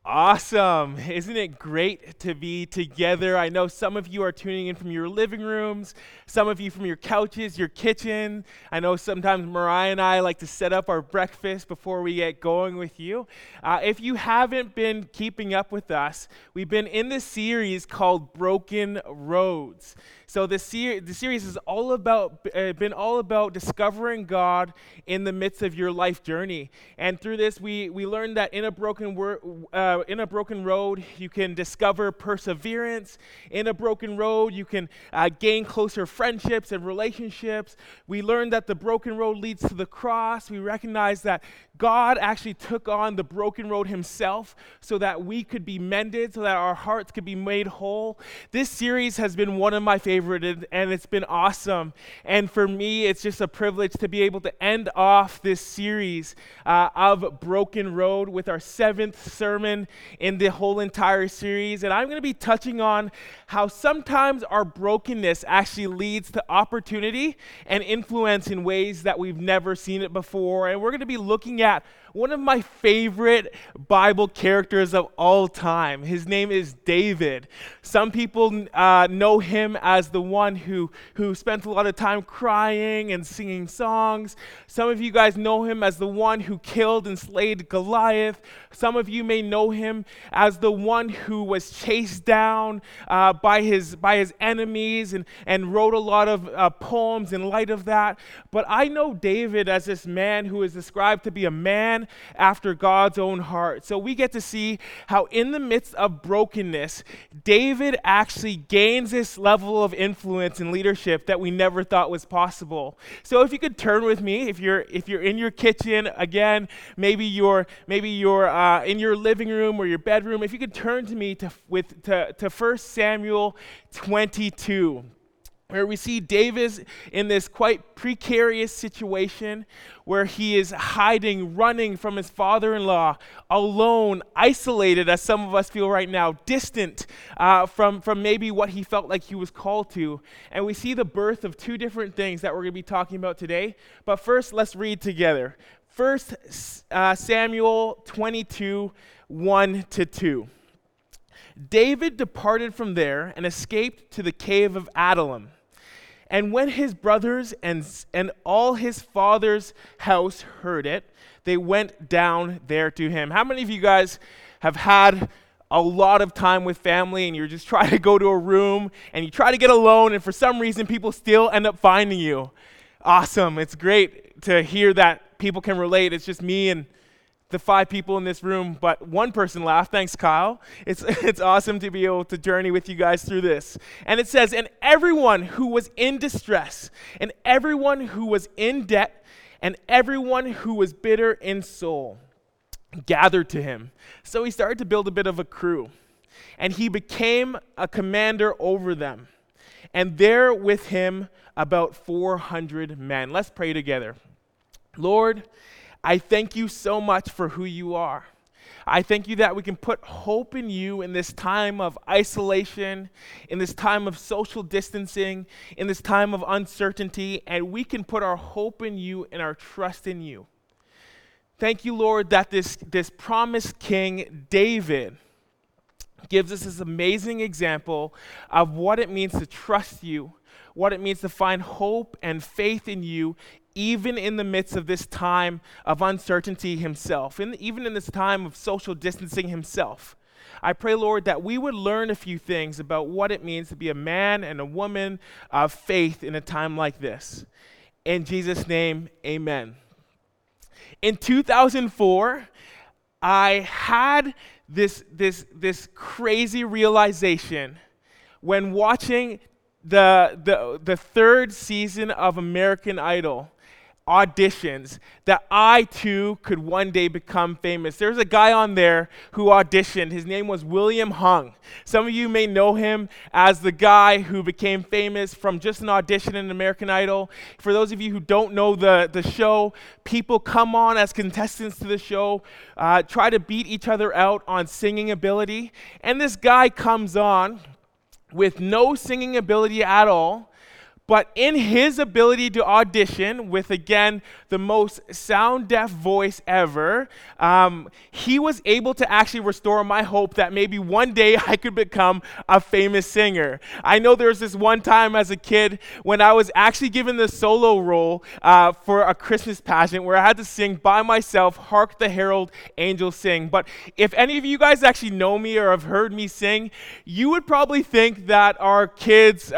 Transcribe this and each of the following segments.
Awesome. Isn't it great to be together? I know some of you are tuning in from your living rooms, some of you from your couches, your kitchen. I know sometimes Mariah and I like to set up our breakfast before we get going with you. If you haven't been keeping up with us, we've been in this series called Broken Roads. So the series is been all about discovering God in the midst of your life journey. And through this, we learned that in a broken road, you can discover perseverance. In a broken road, you can gain closer friendships and relationships. We learned that the broken road leads to the cross. We recognize that God actually took on the broken road himself so that we could be mended, so that our hearts could be made whole. This series has been one of my favorites, and it's been awesome. And for me, it's just a privilege to be able to end off this series of Broken Road with our seventh sermon in the whole entire series. And I'm going to be touching on how sometimes our brokenness actually leads to opportunity and influence in ways that we've never seen it before. And we're going to be looking at one of my favorite Bible characters of all time. His name is David. Some people know him as the one who spent a lot of time crying and singing songs. Some of you guys know him as the one who killed and slayed Goliath. Some of you may know him as the one who was chased down by his enemies and wrote a lot of poems in light of that. But I know David as this man who is described to be a man after God's own heart. So we get to see how in the midst of brokenness, David actually gains this level of influence and leadership that we never thought was possible. So if you could turn with me, if you're in your kitchen, again, maybe you're in your living room or your bedroom, if you could turn to me to 1 Samuel 22. Where we see David in this quite precarious situation where he is hiding, running from his father-in-law, alone, isolated, as some of us feel right now, distant from maybe what he felt like he was called to. And we see the birth of two different things that we're going to be talking about today. But first, let's read together. 1 Samuel 22, 1-2. David departed from there and escaped to the cave of Adullam. And when his brothers and all his father's house heard it, they went down there to him. How many of you guys have had a lot of time with family and you're just trying to go to a room and you try to get alone and for some reason people still end up finding you? Awesome. It's great to hear that people can relate. It's just me and the 5 people in this room, but one person laughed. Thanks, Kyle. It's awesome to be able to journey with you guys through this. And it says, and everyone who was in distress, and everyone who was in debt, and everyone who was bitter in soul gathered to him. So he started to build a bit of a crew, and he became a commander over them. And there with him about 400 men. Let's pray together. Lord, I thank you so much for who you are. I thank you that we can put hope in you in this time of isolation, in this time of social distancing, in this time of uncertainty, and we can put our hope in you and our trust in you. Thank you, Lord, that this promised king, David, gives us this amazing example of what it means to trust you, what it means to find hope and faith in you, even in the midst of this time of uncertainty himself, and even in this time of social distancing himself. I pray, Lord, that we would learn a few things about what it means to be a man and a woman of faith in a time like this. In Jesus' name, amen. In 2004, I had this crazy realization when watching the third season of American Idol auditions that I too could one day become famous. There's a guy on there who auditioned. His name was William Hung. Some of you may know him as the guy who became famous from just an audition in American Idol. For those of you who don't know the show, people come on as contestants to the show, try to beat each other out on singing ability. And this guy comes on with no singing ability at all, But in his ability to audition with, again, the most sound-deaf voice ever, he was able to actually restore my hope that maybe one day I could become a famous singer. I know there was this one time as a kid when I was actually given the solo role for a Christmas pageant where I had to sing by myself, "Hark the Herald Angels Sing." But if any of you guys actually know me or have heard me sing, you would probably think that our kids'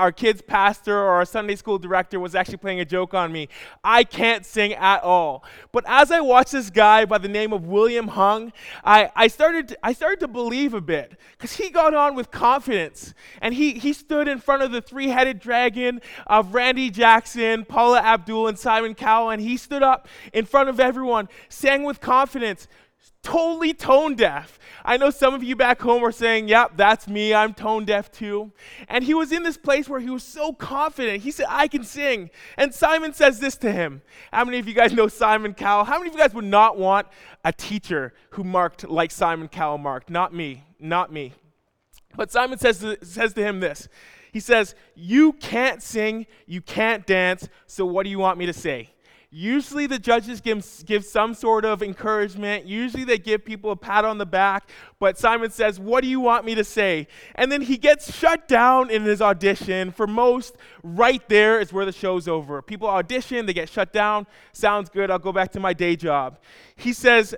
pastor or our Sunday school director was actually playing a joke on me. I can't sing at all. But as I watched this guy by the name of William Hung, I started to believe a bit, because he got on with confidence, and he stood in front of the three-headed dragon of Randy Jackson, Paula Abdul, and Simon Cowell, and he stood up in front of everyone, sang with confidence, totally tone deaf. I know some of you back home are saying, yep, that's me, I'm tone deaf too. And he was in this place where he was so confident. He said, I can sing. And Simon says this to him. How many of you guys know Simon Cowell? How many of you guys would not want a teacher who marked like Simon Cowell marked? Not me, not me. But Simon says to him this. He says, you can't sing, you can't dance, so what do you want me to say? Usually the judges give some sort of encouragement. Usually they give people a pat on the back. But Simon says, what do you want me to say? And then he gets shut down in his audition. For most, right there is where the show's over. People audition, they get shut down. Sounds good, I'll go back to my day job. He says,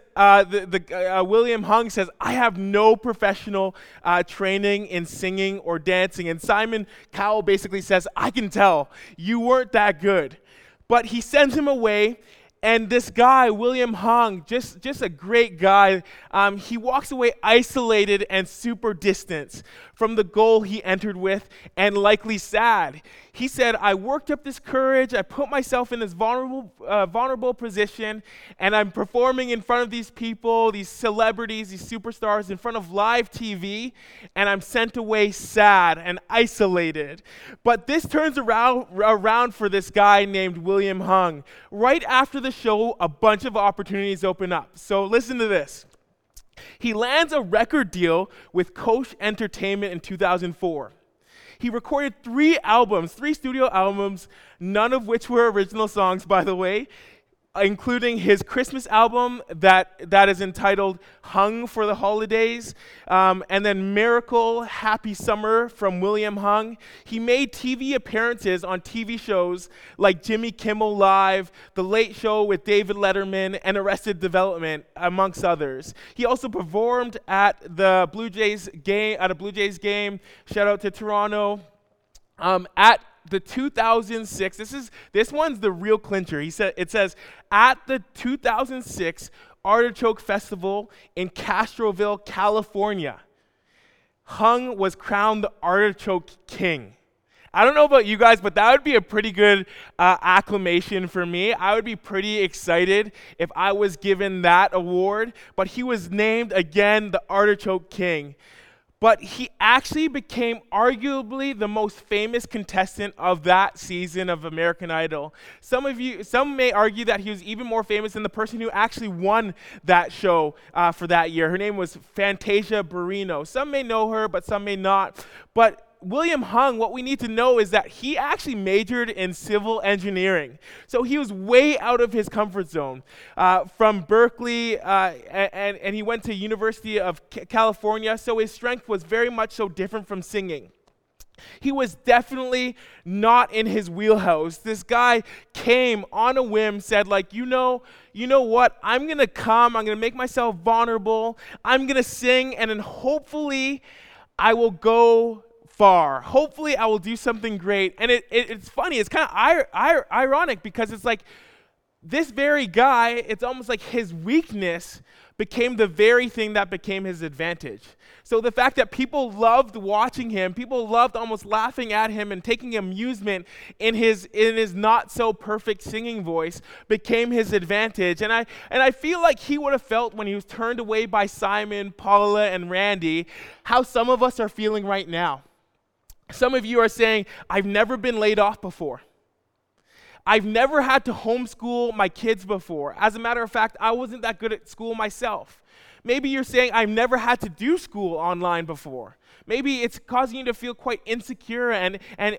William Hung says, I have no professional training in singing or dancing. And Simon Cowell basically says, I can tell, you weren't that good. But he sends him away, and this guy, William Hung, just a great guy, he walks away isolated and super distant from the goal he entered with, and likely sad. He said, I worked up this courage, I put myself in this vulnerable position, and I'm performing in front of these people, these celebrities, these superstars, in front of live TV, and I'm sent away sad and isolated. But this turns around for this guy named William Hung. Right after the show, a bunch of opportunities open up. So listen to this. He lands a record deal with Koch Entertainment in 2004. He recorded 3 studio albums, none of which were original songs, by the way, including his Christmas album that is entitled Hung for the Holidays, and then Miracle, Happy Summer from William Hung. He made TV appearances on TV shows like Jimmy Kimmel Live, The Late Show with David Letterman, and Arrested Development, amongst others. He also performed at the Blue Jays game, shout out to Toronto, at the 2006, this one's the real clincher. It says, at the 2006 Artichoke Festival in Castroville, California, Hung was crowned the Artichoke King. I don't know about you guys, but that would be a pretty good acclamation for me. I would be pretty excited if I was given that award, but he was named again the Artichoke King. But he actually became arguably the most famous contestant of that season of American Idol. Some may argue that he was even more famous than the person who actually won that show for that year. Her name was Fantasia Barrino. Some may know her, but some may not. But William Hung, what we need to know is that he actually majored in civil engineering. So he was way out of his comfort zone. From Berkeley, and he went to University of California, so his strength was very much so different from singing. He was definitely not in his wheelhouse. This guy came on a whim, said like, you know what, I'm going to make myself vulnerable, I'm going to sing, and then hopefully I will go far. Hopefully I will do something great. And it's funny, it's kind of ironic, because it's like this very guy, it's almost like his weakness became the very thing that became his advantage. So the fact that people loved watching him, people loved almost laughing at him and taking amusement in his not so perfect singing voice became his advantage. And I feel like he would have felt when he was turned away by Simon, Paula, and Randy, how some of us are feeling right now. Some of you are saying, I've never been laid off before. I've never had to homeschool my kids before. As a matter of fact, I wasn't that good at school myself. Maybe you're saying, I've never had to do school online before. Maybe it's causing you to feel quite insecure and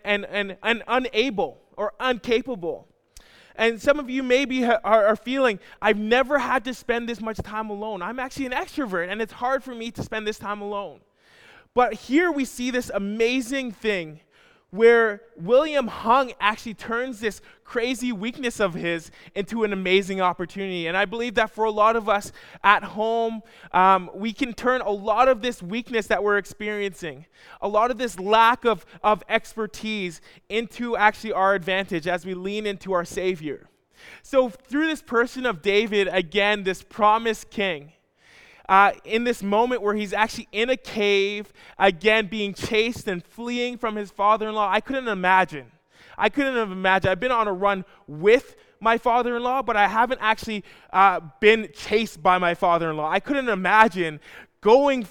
unable or incapable. And some of you maybe are feeling, I've never had to spend this much time alone. I'm actually an extrovert, and it's hard for me to spend this time alone. But here we see this amazing thing where William Hung actually turns this crazy weakness of his into an amazing opportunity. And I believe that for a lot of us at home, we can turn a lot of this weakness that we're experiencing, a lot of this lack of expertise into actually our advantage as we lean into our Savior. So through this person of David, again, this promised king, in this moment where he's actually in a cave, again being chased and fleeing from his father-in-law, I couldn't imagine. I've been on a run with my father-in-law, but I haven't actually been chased by my father-in-law. I couldn't imagine going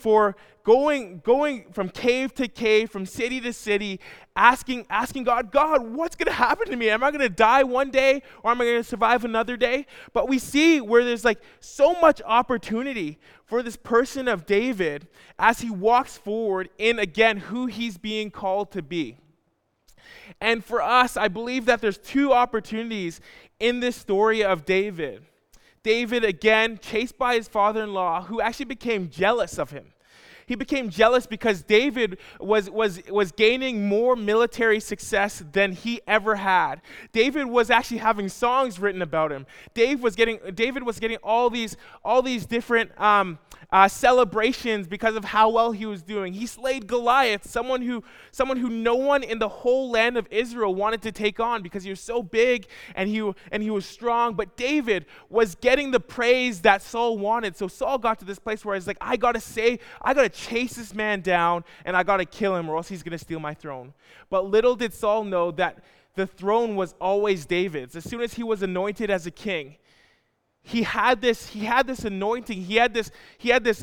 from cave to cave, from city to city, asking God, what's going to happen to me? Am I going to die one day, or am I going to survive another day? But we see where there's like so much opportunity for this person of David as he walks forward in, again, who he's being called to be. And for us, I believe that there's two opportunities in this story of David. David, again, chased by his father-in-law, who actually became jealous of him. He became jealous because David was gaining more military success than he ever had. David was actually having songs written about him. David was getting all these different celebrations because of how well he was doing. He slayed Goliath, someone who no one in the whole land of Israel wanted to take on because he was so big and he was strong. But David was getting the praise that Saul wanted. So Saul got to this place where he's like, I gotta chase this man down and I gotta kill him or else he's gonna steal my throne. But little did Saul know that the throne was always David's. As soon as he was anointed as a king, he had this anointing, he had this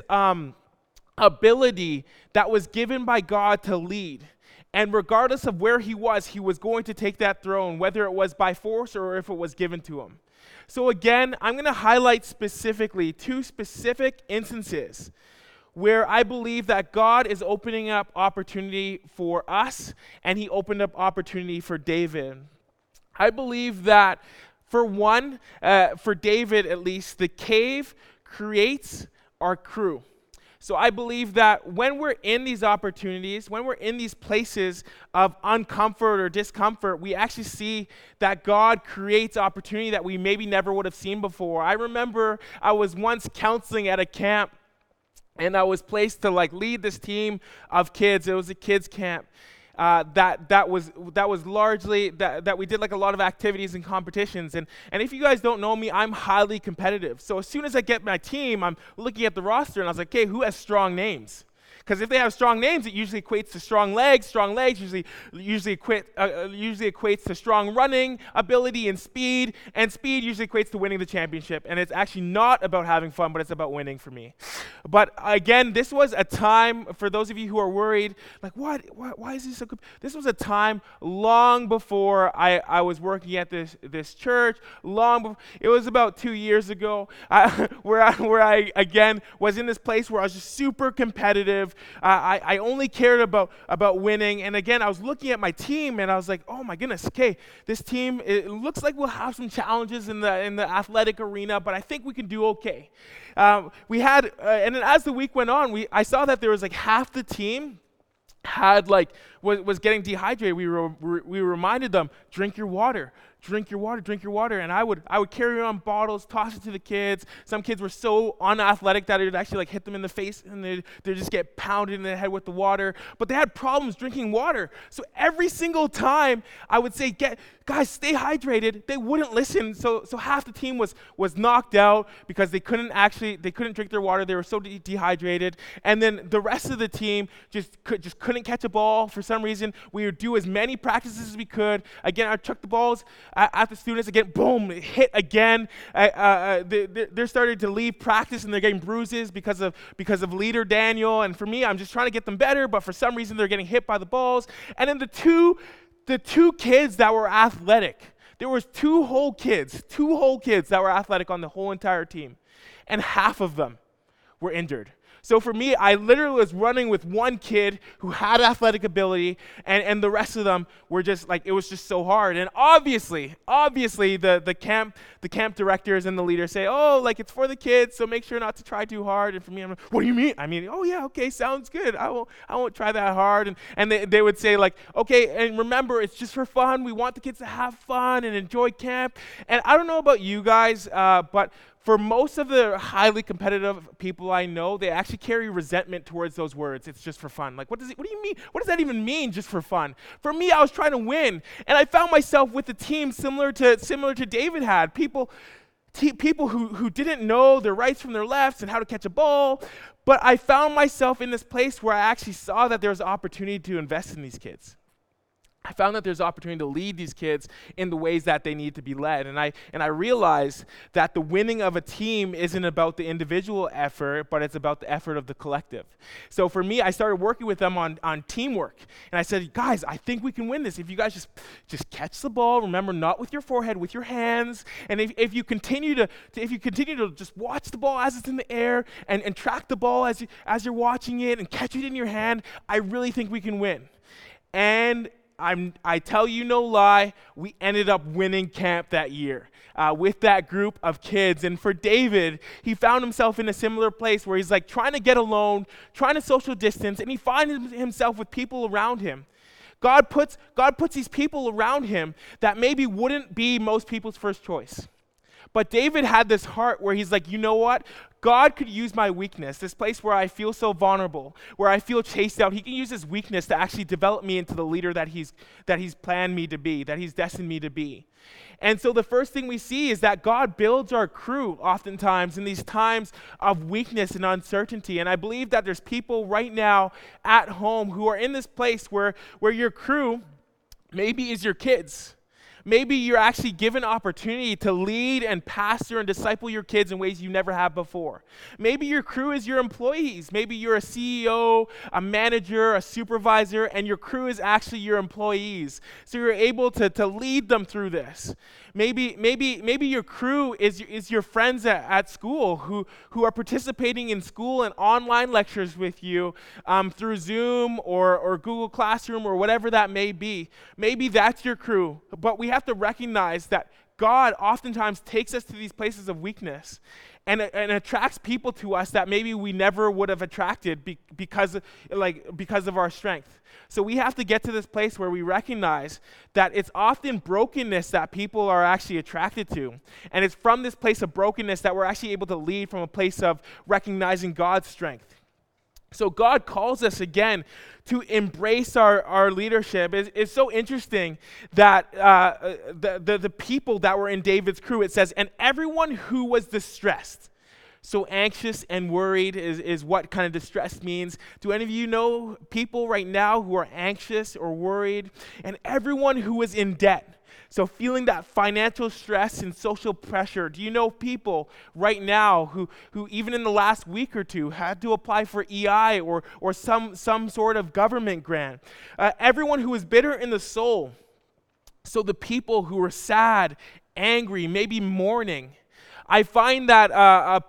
ability that was given by God to lead. And regardless of where he was going to take that throne, whether it was by force or if it was given to him. So again, I'm going to highlight specifically two specific instances where I believe that God is opening up opportunity for us, and he opened up opportunity for David. I believe that for David at least, the cave creates our crew. So I believe that when we're in these opportunities, when we're in these places of uncomfort or discomfort, we actually see that God creates opportunity that we maybe never would have seen before. I remember I was once counseling at a camp, and I was placed to lead this team of kids. It was a kids camp. That was largely that we did a lot of activities and competitions, and if you guys don't know me, I'm highly competitive. So as soon as I get my team, I'm looking at the roster and I was like, okay, who has strong names? Because if they have strong names, it usually equates to strong legs. Strong legs usually equates to strong running ability and speed usually equates to winning the championship. And it's actually not about having fun, but it's about winning for me. But again, this was a time, for those of you who are worried, why is this so good? This was a time long before I was working at this church, it was about 2 years ago, where I again was in this place where I was just super competitive. I only cared about winning. And again, I was looking at my team and I was like, oh my goodness, okay, this team, it looks like we'll have some challenges in the athletic arena, but I think we can do okay. And then as the week went on, I saw that there was half the team was getting dehydrated. We reminded them, drink your water. And I would carry around bottles, toss it to the kids. Some kids were so unathletic that it would actually hit them in the face and they'd just get pounded in the head with the water. But they had problems drinking water. So every single time I would say, guys, stay hydrated, they wouldn't listen. So half the team was knocked out because they couldn't drink their water. They were so dehydrated. And then the rest of the team just couldn't catch a ball for some reason. We would do as many practices as we could. Again, I chucked the balls at the students again, boom, hit again. They're starting to leave practice and they're getting bruises because of leader Daniel. And for me, I'm just trying to get them better, but for some reason they're getting hit by the balls. And then the two kids that were athletic, there was two whole kids that were athletic on the whole entire team, and half of them were injured. So for me, I literally was running with one kid who had athletic ability, and the rest of them were just like, it was just so hard. And obviously, the camp directors and the leaders say, oh, like it's for the kids, so make sure not to try too hard. And for me, I'm like, what do you mean? I mean, oh yeah, okay, sounds good. I won't try that hard. And they would say like, okay, and remember, it's just for fun. We want the kids to have fun and enjoy camp. And I don't know about you guys, but for most of the highly competitive people I know, they actually carry resentment towards those words. It's just for fun. Like, what do you mean? What does that even mean, just for fun? For me, I was trying to win, and I found myself with a team similar to David had. People who didn't know their rights from their lefts and how to catch a ball, but I found myself in this place where I actually saw that there was opportunity to invest in these kids. I found that there's opportunity to lead these kids in the ways that they need to be led. And I realized that the winning of a team isn't about the individual effort, but it's about the effort of the collective. So for me, I started working with them on teamwork. And I said, guys, I think we can win this. If you guys just catch the ball, remember, not with your forehead, with your hands. And if you continue to just watch the ball as it's in the air and track the ball as you're watching it and catch it in your hand, I really think we can win. And I tell you no lie, we ended up winning camp that year with that group of kids. And for David, he found himself in a similar place where he's like trying to get alone, trying to social distance, and he finds himself with people around him. God puts these people around him that maybe wouldn't be most people's first choice. But David had this heart where he's like, you know what? God could use my weakness, this place where I feel so vulnerable, where I feel chased out. He can use this weakness to actually develop me into the leader that he's planned me to be, that he's destined me to be. And so the first thing we see is that God builds our crew oftentimes in these times of weakness and uncertainty. And I believe that there's people right now at home who are in this place where your crew maybe is your kids. Maybe you're actually given opportunity to lead and pastor and disciple your kids in ways you never have before. Maybe your crew is your employees. Maybe you're a CEO, a manager, a supervisor, and your crew is actually your employees. So you're able to lead them through this. Maybe your crew is your friends at school who are participating in school and online lectures with you through Zoom or Google Classroom or whatever that may be. Maybe that's your crew, but we have to recognize that God oftentimes takes us to these places of weakness and attracts people to us that maybe we never would have attracted because of our strength. So we have to get to this place where we recognize that it's often brokenness that people are actually attracted to. And it's from this place of brokenness that we're actually able to lead from a place of recognizing God's strength. So God calls us again to embrace our leadership. It's so interesting that the people that were in David's crew, it says, and everyone who was distressed. So anxious and worried is what kind of distress means. Do any of you know people right now who are anxious or worried? And everyone who is in debt. So feeling that financial stress and social pressure. Do you know people right now who even in the last week or two had to apply for EI or some sort of government grant? Everyone who is bitter in the soul. So the people who are sad, angry, maybe mourning. I find that a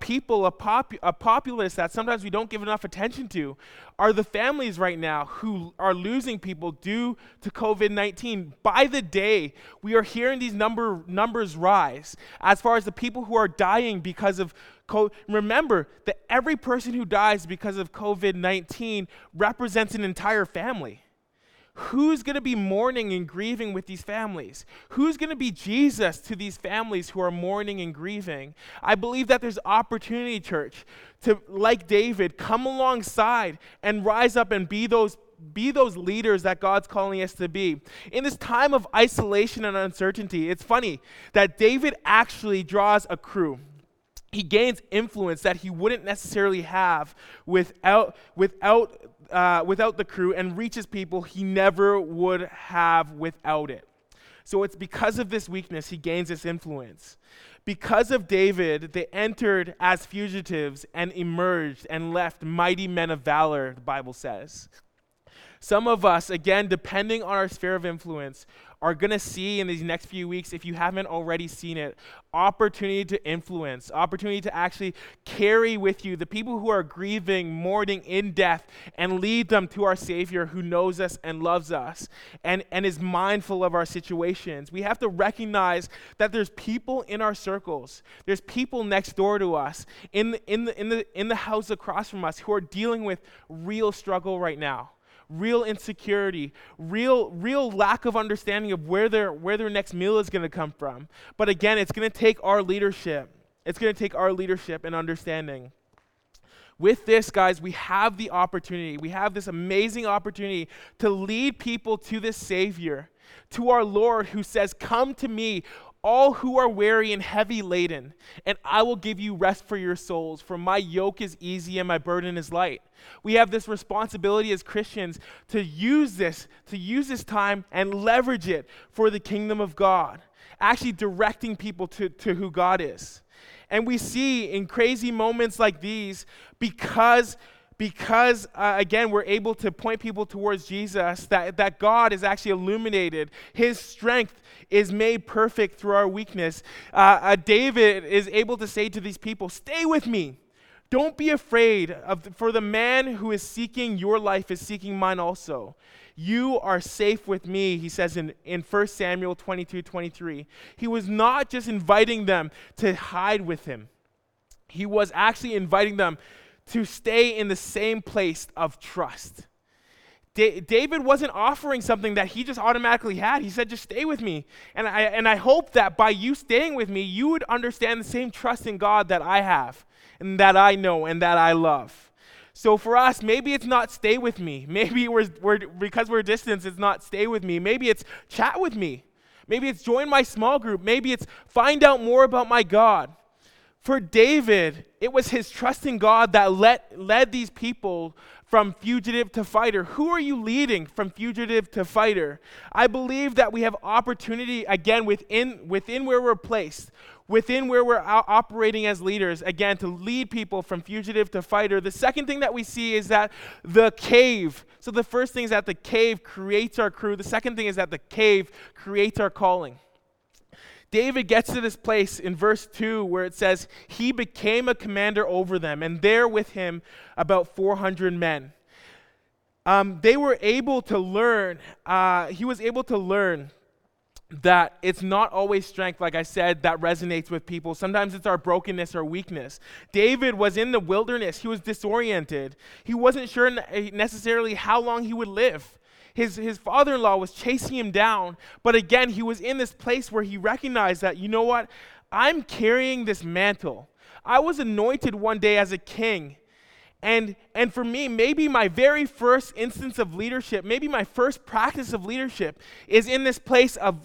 populace that sometimes we don't give enough attention to are the families right now who are losing people due to COVID-19. By the day, we are hearing these numbers rise as far as the people who are dying because of COVID. Remember that every person who dies because of COVID-19 represents an entire family. Who's going to be mourning and grieving with these families? Who's going to be Jesus to these families who are mourning and grieving? I believe that there's opportunity, church, to, like David, come alongside and rise up and be those leaders that God's calling us to be. In this time of isolation and uncertainty, it's funny that David actually draws a crew. He gains influence that he wouldn't necessarily have without the crew, and reaches people he never would have without it. So it's because of this weakness he gains this influence. Because of David, they entered as fugitives and emerged and left mighty men of valor, the Bible says. Some of us, again, depending on our sphere of influence, are going to see in these next few weeks, if you haven't already seen it, opportunity to influence, opportunity to actually carry with you the people who are grieving, mourning in death, and lead them to our Savior who knows us and loves us and is mindful of our situations. We have to recognize that there's people in our circles, there's people next door to us, in the house across from us who are dealing with real struggle right now. Real insecurity, real lack of understanding of where their next meal is going to come from. But again, it's going to take our leadership. It's going to take our leadership and understanding. With this, guys, we have the opportunity. We have this amazing opportunity to lead people to this Savior, to our Lord who says, "Come to me, all who are weary and heavy laden, and I will give you rest for your souls, for my yoke is easy and my burden is light." We have this responsibility as Christians to use this time and leverage it for the kingdom of God, actually directing people to who God is. And we see in crazy moments like these, because again, we're able to point people towards Jesus, that God is actually illuminated. His strength is made perfect through our weakness. David is able to say to these people, "Stay with me. Don't be afraid, for the man who is seeking your life is seeking mine also. You are safe with me," he says in 1 Samuel 22:23. He was not just inviting them to hide with him. He was actually inviting them to stay in the same place of trust. David wasn't offering something that he just automatically had. He said, "Just stay with me." And I hope that by you staying with me, you would understand the same trust in God that I have, and that I know, and that I love. So for us, maybe it's not stay with me. Maybe because we're distant, it's not stay with me. Maybe it's chat with me. Maybe it's join my small group. Maybe it's find out more about my God. For David, it was his trust in God that led these people from fugitive to fighter. Who are you leading from fugitive to fighter? I believe that we have opportunity, again, within where we're placed, within where we're operating as leaders, again, to lead people from fugitive to fighter. The second thing that we see is that the cave. So the first thing is that the cave creates our crew. The second thing is that the cave creates our calling. David gets to this place in verse 2 where it says, "He became a commander over them, and there with him about 400 men." They were able to learn, he was able to learn that it's not always strength, like I said, that resonates with people. Sometimes it's our brokenness or weakness. David was in the wilderness. He was disoriented. He wasn't sure necessarily how long he would live. His father-in-law was chasing him down, but again, he was in this place where he recognized that, you know what? I'm carrying this mantle. I was anointed one day as a king. And for me, maybe my very first instance of leadership, maybe my first practice of leadership is in this place of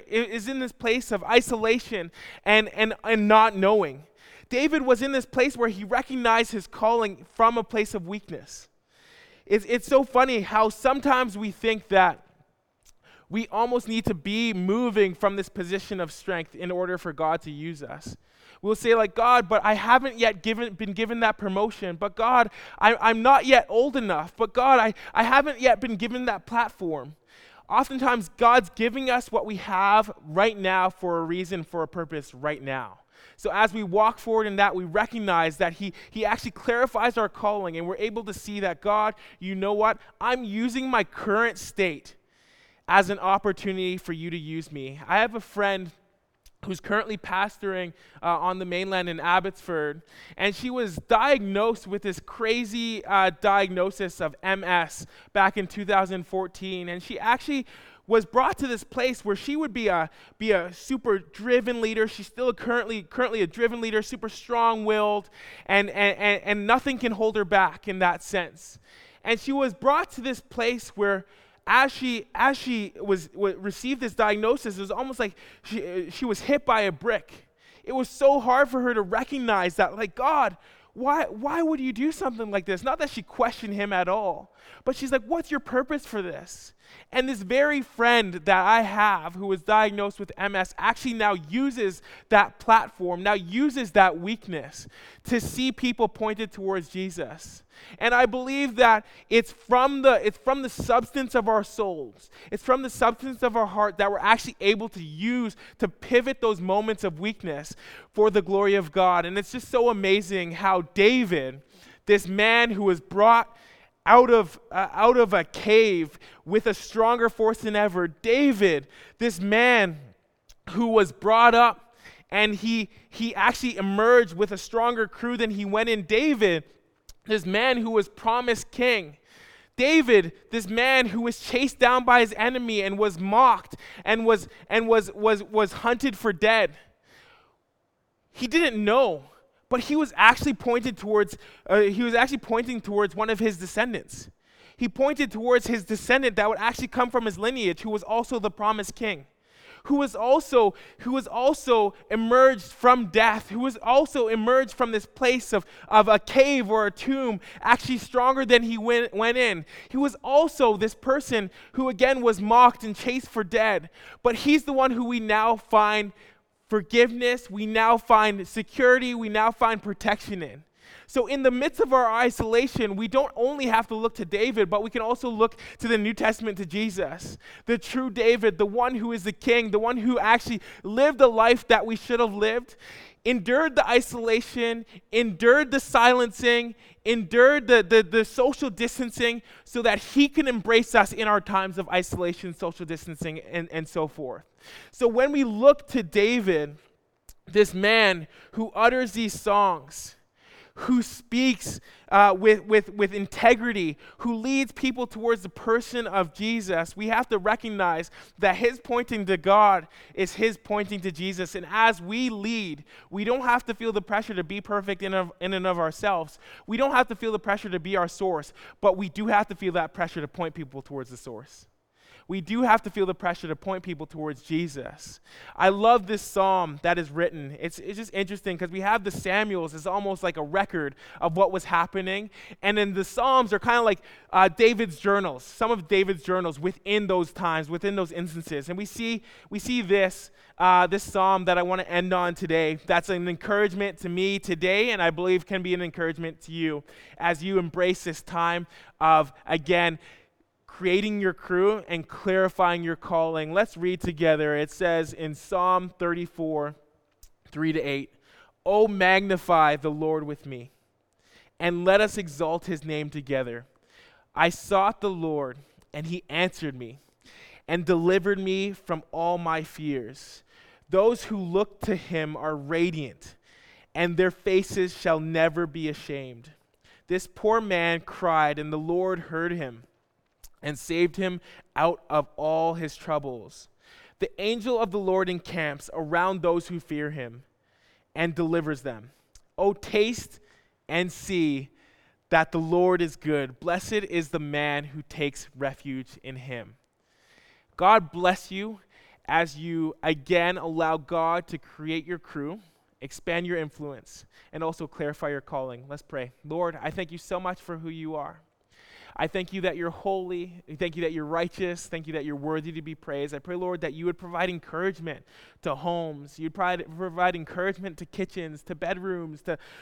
isolation and not knowing. David was in this place where he recognized his calling from a place of weakness. It's so funny how sometimes we think that we almost need to be moving from this position of strength in order for God to use us. We'll say like, "God, but I haven't yet been given that promotion. But God, I'm not yet old enough. But God, I haven't yet been given that platform." Oftentimes, God's giving us what we have right now for a reason, for a purpose right now. So as we walk forward in that, we recognize that he actually clarifies our calling, and we're able to see that, God, you know what? I'm using my current state as an opportunity for you to use me. I have a friend who's currently pastoring on the mainland in Abbotsford, and she was diagnosed with this crazy diagnosis of MS back in 2014, and she actually was brought to this place where she would be a super driven leader. She's still currently a driven leader, super strong-willed, and nothing can hold her back in that sense. And she was brought to this place where as she received this diagnosis, it was almost like she was hit by a brick. It was so hard for her to recognize that, like, God, why would you do something like this? Not that she questioned him at all, but she's like, what's your purpose for this? And this very friend that I have who was diagnosed with MS actually now uses that platform, now uses that weakness to see people pointed towards Jesus. And I believe that it's from the substance of our souls. It's from the substance of our heart that we're actually able to use to pivot those moments of weakness for the glory of God. And it's just so amazing how David, this man who was brought out of a cave with a stronger force than ever, David, this man who was brought up and he actually emerged with a stronger crew than he went in. David, this man who was promised king. David, this man who was chased down by his enemy and was mocked and was hunted for dead. He didn't know, but he was actually pointing towards one of his descendants. He pointed towards his descendant that would actually come from his lineage, who was also the promised king, who was also emerged from death, who was also emerged from this place of a cave or a tomb, actually stronger than he went in. He was also this person who again was mocked and chased for dead, but he's the one who we now find forgiveness, we now find security, we now find protection in. So in the midst of our isolation, we don't only have to look to David, but we can also look to the New Testament, to Jesus, the true David, the one who is the king, the one who actually lived the life that we should have lived, endured the isolation, endured the silencing, endured the social distancing so that he can embrace us in our times of isolation, social distancing, and so forth. So when we look to David, this man who utters these songs, who speaks with integrity, who leads people towards the person of Jesus, we have to recognize that his pointing to God is his pointing to Jesus. And as we lead, we don't have to feel the pressure to be perfect in and of ourselves. We don't have to feel the pressure to be our source, but we do have to feel that pressure to point people towards the source. We do have to feel the pressure to point people towards Jesus. I love this psalm that is written. It's just interesting because we have the Samuels as almost like a record of what was happening. And then the Psalms are kind of like David's journals, some of David's journals within those times, within those instances. And we see this psalm that I want to end on today. That's an encouragement to me today, and I believe can be an encouragement to you as you embrace this time of, again, creating your crew and clarifying your calling. Let's read together. It says in Psalm 34, 3-8, "Oh, magnify the Lord with me, and let us exalt his name together. I sought the Lord, and he answered me, and delivered me from all my fears. Those who look to him are radiant, and their faces shall never be ashamed. This poor man cried, and the Lord heard him, and saved him out of all his troubles. The angel of the Lord encamps around those who fear him and delivers them. Oh, taste and see that the Lord is good. Blessed is the man who takes refuge in him." God bless you as you again allow God to create your crew, expand your influence, and also clarify your calling. Let's pray. Lord, I thank you so much for who you are. I thank you that you're holy. I thank you that you're righteous. Thank you that you're worthy to be praised. I pray, Lord, that you would provide encouragement to homes. You'd provide encouragement to kitchens, to bedrooms,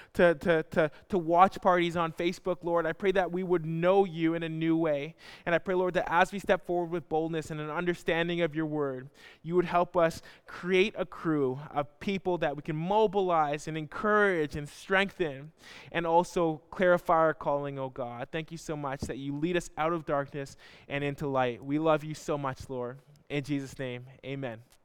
to watch parties on Facebook, Lord. I pray that we would know you in a new way. And I pray, Lord, that as we step forward with boldness and an understanding of your word, you would help us create a crew of people that we can mobilize and encourage and strengthen and also clarify our calling, oh God. Thank you so much that you lead us out of darkness and into light. We love you so much, Lord. In Jesus' name, amen.